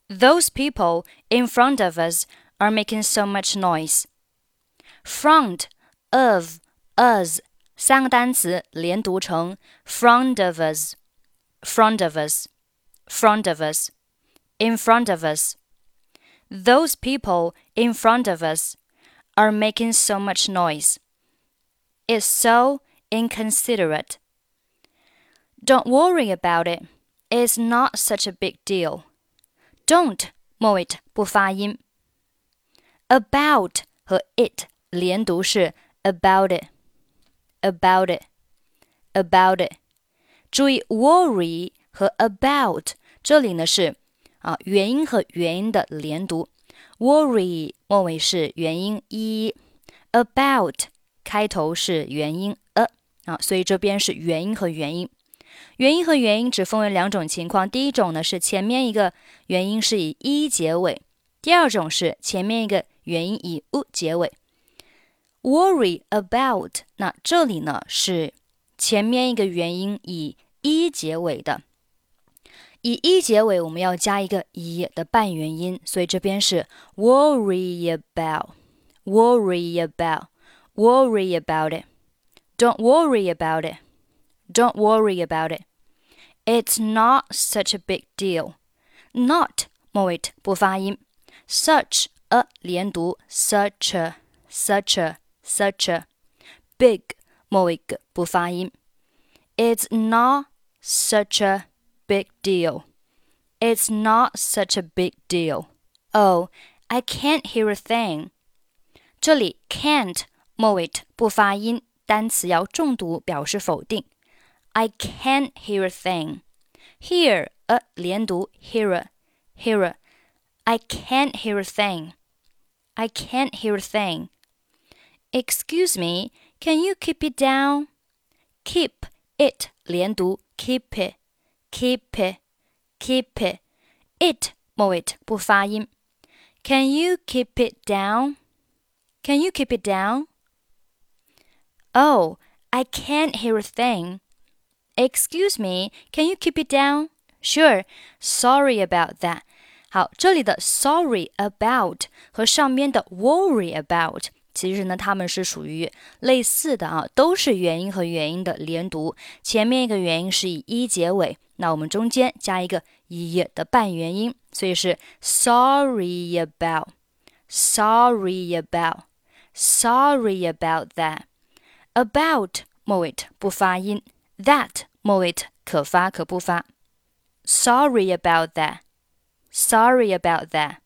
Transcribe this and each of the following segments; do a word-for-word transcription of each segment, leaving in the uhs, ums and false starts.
Those people in front of us are making so much noise. Front of us 三个单词连读成 front of us, front of us, front of us, in front of us. Those people in front of us are making so much noise. It's so inconsiderate. Don't worry about it. It's not such a big deal. Don't 末尾不发音。About 和 it 连读是 about it, about it, about it. 注意 worry 和 about 这里呢是啊元音和元音的连读。worry 末尾是元音 e, about 开头是元音 a 啊，所以这边是元音和元音。元音和元音只分为两种情况，第一种呢是前面一个元音是以 e 结尾，第二种是前面一个元音以 u 结尾。worry about 那这里呢是前面一个元音以 e 结尾的，以 e 结尾我们要加一个 e 的半元音，所以这边是 worry about, worry about, worry about it. Don't worry about it. Don't worry about it. It's not such a big deal. Not 末尾不发音 Such a 连读 Such a, such a, such a. Big 末尾不发音 It's not such a big deal. It's not such a big deal. Oh, I can't hear a thing. 这里 can't 末尾不发音，单词要重读表示否定。I can't hear a thing. Hear a 连读 hear a, hear a. I can't hear a thing. I can't hear a thing. Excuse me, can you keep it down? Keep it 连读 keep it, keep it, keep it. It 末尾不发音。Can you keep it down? Can you keep it down? Oh, I can't hear a thing.Excuse me, can you keep it down? Sure, sorry about that. 好，这里的 sorry about 和上面的 worry about 其实呢，它们是属于类似的啊，都是元音和元音的连读。前面一个元音是以 e 结尾，那我们中间加一个 e 的半元音，所以是 sorry about, sorry about, sorry about that. About 末尾不发音。That 末尾可发可不发。Sorry about that. Sorry about that.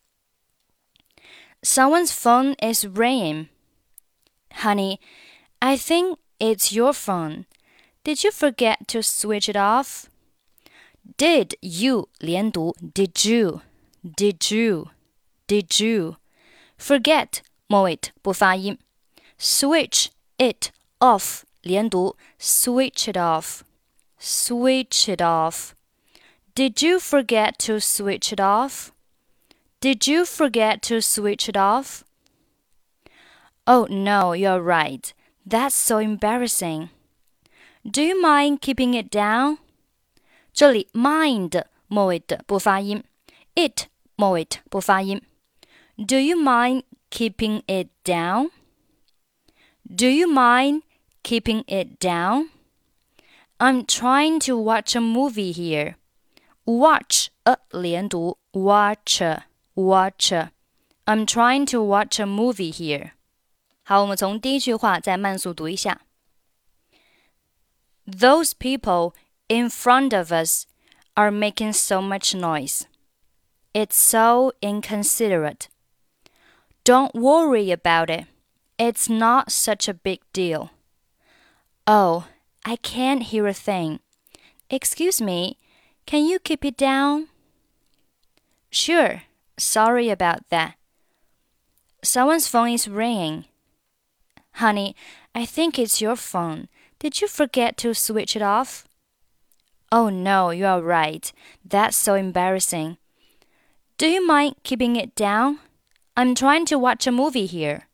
Someone's phone is ringing. Honey, I think it's your phone. Did you forget to switch it off? Did you 连读 Did you? Did you? Did you? Forget 末尾不发音。Switch it off连读 switch it off, switch it off. Did you forget to switch it off? Did you forget to switch it off? Oh no, you're right. That's so embarrassing. Do you mind keeping it down? 这里 mind 末尾的不发音 it 末尾不发音 Do you mind keeping it down? Do you mind keeping it down? I'm trying to watch a movie here. Watch a 连读 watch a, watch a. I'm trying to watch a movie here. 好，我们从第一句话再慢速读一下。Those people in front of us are making so much noise. It's so inconsiderate. Don't worry about it. It's not such a big deal. Oh, I can't hear a thing. Excuse me, can you keep it down? Sure, sorry about that. Someone's phone is ringing. Honey, I think it's your phone. Did you forget to switch it off? Oh no, you're right. That's so embarrassing. Do you mind keeping it down? I'm trying to watch a movie here.